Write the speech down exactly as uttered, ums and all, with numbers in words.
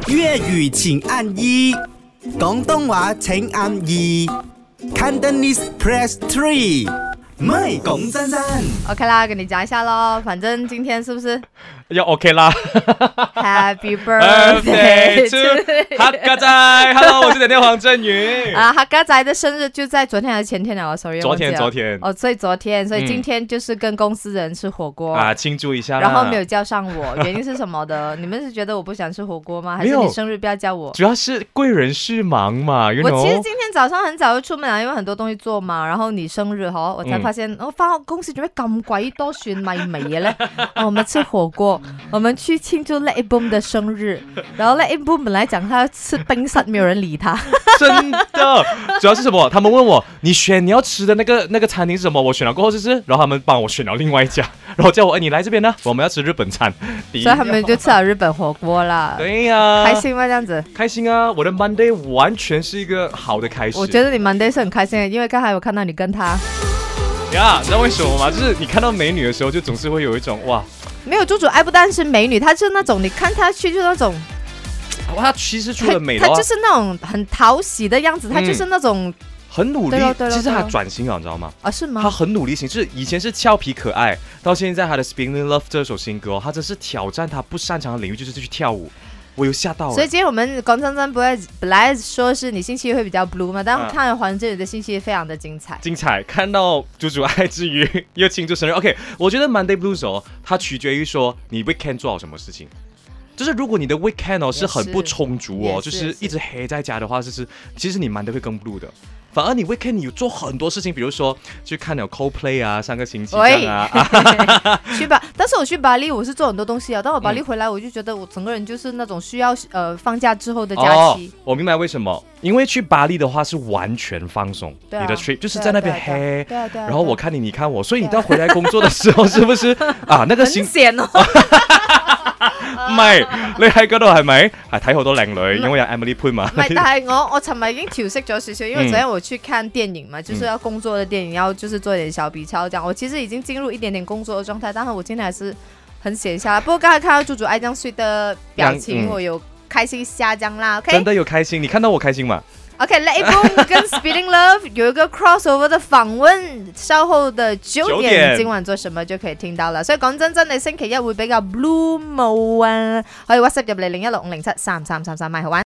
粵語請按一，廣東話請按二 ，Cantonese press three。唔係講真真 OK 啦，跟你講一下咯，反正今天是不是要 OK 啦 ？Happy birthday to 黑家仔 ，Hello， 我是點點黃振宇啊，黑家仔的生日就在昨天還是前天了 ？Sorry， 昨天昨天哦，所以昨天，所以今天就是跟公司人吃火鍋、嗯、 啊，慶祝一下啦。 然後沒有叫上我，原因是什麼的？你們是覺得我不想吃火鍋嗎？還是你生日不要叫我？ 主要是貴人事忙嘛 you know? 我其實今天早上很早就出門了，因為很多東西做嘛。然後你生日嗬，我才發現，我翻、嗯哦、公司做咩咁鬼多蒜米味嘅咧？哦，我們吃火鍋，我們去慶祝 Let It Boom 的生日。然後 Let It Boom 本來講他要吃冰室，沒有人理他。 真的，主要是什麼？他們問我，你選你要吃的那個那個餐廳是什麼？我選了過後就是，然後他們幫我選了另外一家，然後叫我，哎，你來這邊呢，我們要吃日本餐。 所以他們就吃了日本火鍋啦。 對呀、啊， 開心嗎？這樣子？ 開心啊！我的 Monday 完全是一個好的開始。 我覺得你 Monday 是很開心的，因為剛才我看到你跟他。 呀、yeah, ，你知道為什麼嗎？就是你看到美女的時候，就總是會有一種哇。 沒有，豬豬愛不單是美女，她是那種你看她去就那種。 哇，他其實除了美的話，他就是那種很討喜的樣子，他、嗯、就是那種很努力。其實他轉型了，你知道嗎？啊， 是嗎？ 他很努力型，就是以前是俏皮可愛，到現在他的《Spinning Love》這首新歌、哦，他真是挑戰他不擅長的領域，就是去跳舞。我有嚇到。 所以今天我們講真真，不會本來說是你星期一會比較 blue 嘛，但看了黃振宇的星期一非常的精彩。 精彩，看到豬豬愛之餘又慶祝生日。OK， 我覺得 Monday Blues 哦，它取決於說你 weekend 做好什麼事情。就是如果你的 weekend 哦是很不充足哦，是就是一直黑在家的話，就是其實你 Monday 會更 blue 的。反而你 weekend 你有做很多事情，比如說去看了 Coldplay 啊，上個星期這樣啊。 去吧，但是我去巴黎我是做很多東西啊，但我巴黎回來我就覺得我整個人就是那種需要呃放假之後的假期。 哦，我明白為什麼，因為去巴黎的話是完全放鬆， 啊、 你的 trip 就是在那邊黑， 對啊對啊， 然後我看你你看我，所以你到回來工作的時候是不是啊那個心很閒哦。 唔係，你喺嗰度係咪係睇好多靚女？因為有 Emily Poon 嘛。 唔係，但係我我尋日已經調適咗少少，因為昨天我去看電影嘛，嗯、就是要工作的電影，要就是做一點小筆抄，這樣我其實已經進入一點點工作的狀態，但是我今天還是很閒下來。不過剛才看到豬豬愛這樣睡的表情，嗯、我有開心下降啦。Okay? 真的有開心，你看到我開心嗎？ OK，Let It Boom 跟 Spinning Love 有一個 crossover 的訪問，稍後的九點，今晚做什麼就可以聽到了。所以講真真，你星期一會比較 blue 冇啊，可以 WhatsApp 入嚟零一六五零七三三三三，買好玩。